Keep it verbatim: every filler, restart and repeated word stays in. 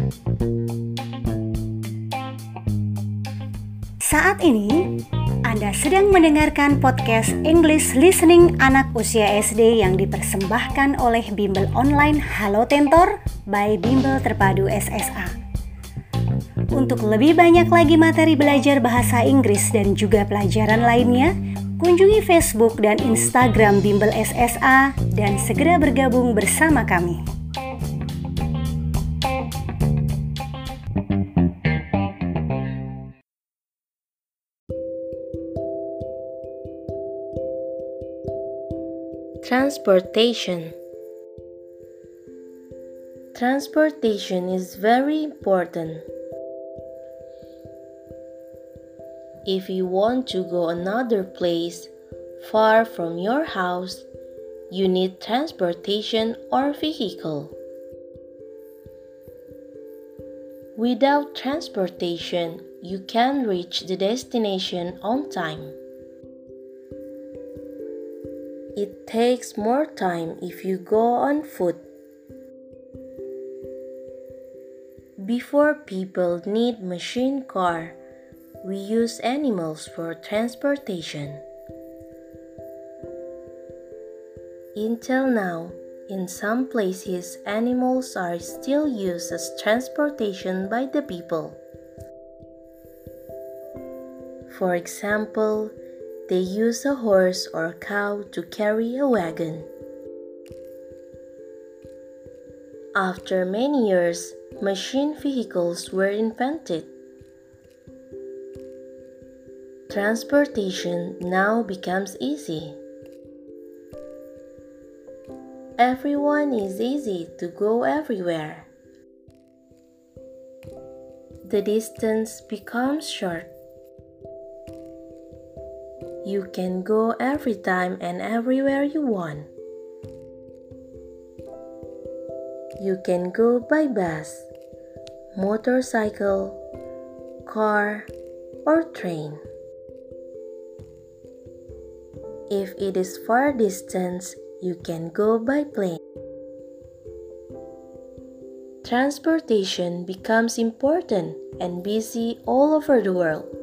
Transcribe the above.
Saat ini, Anda sedang mendengarkan podcast English Listening anak usia S D yang dipersembahkan oleh Bimbel Online Halo Tentor by Bimbel Terpadu S S A. Untuk lebih banyak lagi materi belajar bahasa Inggris dan juga pelajaran lainnya, kunjungi Facebook dan Instagram Bimbel S S A dan segera bergabung bersama kami. Transportation. Transportation is very important. If you want to go another place far from your house, you need transportation or vehicle. Without transportation, you can't reach the destination on time. It takes more time if you go on foot. Before people need machine car, we use animals for transportation. Until now, in some places, animals are still used as transportation by the people. For example, they use a horse or cow to carry a wagon. After many years, machine vehicles were invented. Transportation now becomes easy. Everyone is easy to go everywhere. The distance becomes short. You can go every time and everywhere you want. You can go by bus, motorcycle, car, or train. If it is far distance, you can go by plane. Transportation becomes important and busy all over the world.